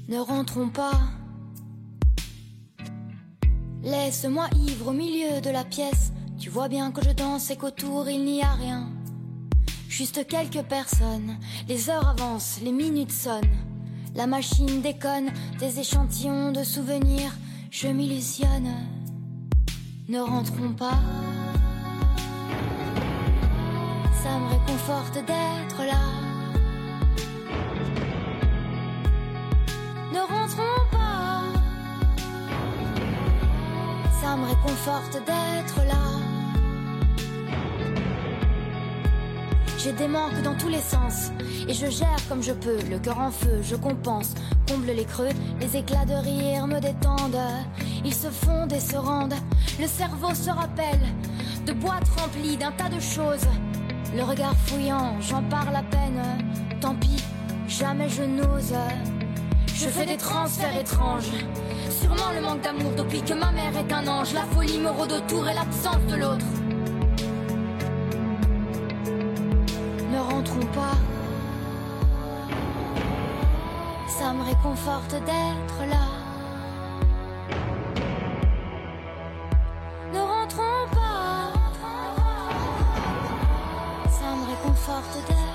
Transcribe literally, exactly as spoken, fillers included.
Ne rentrons pas. Laisse-moi ivre au milieu de la pièce. Tu vois bien que je danse et qu'autour il n'y a rien. Juste quelques personnes. Les heures avancent, les minutes sonnent. La machine déconne, des échantillons de souvenirs. Je m'illusionne. Ne rentrons pas. Ça me réconforte d'être là. Ne rentrons pas. Ça me réconforte d'être là. J'ai des manques dans tous les sens et je gère comme je peux, le cœur en feu, je compense, comble les creux, les éclats de rire me détendent. Ils se fondent et se rendent, le cerveau se rappelle de boîtes remplies d'un tas de choses. Le regard fouillant, j'en parle à peine, tant pis, jamais je n'ose. Je fais des transferts étranges, sûrement le manque d'amour depuis que ma mère est un ange. La folie me rôde autour et l'absence de l'autre. Ne rentrons pas. Ça me réconforte d'être là. Ne rentrons pas. Ça me réconforte d'être là.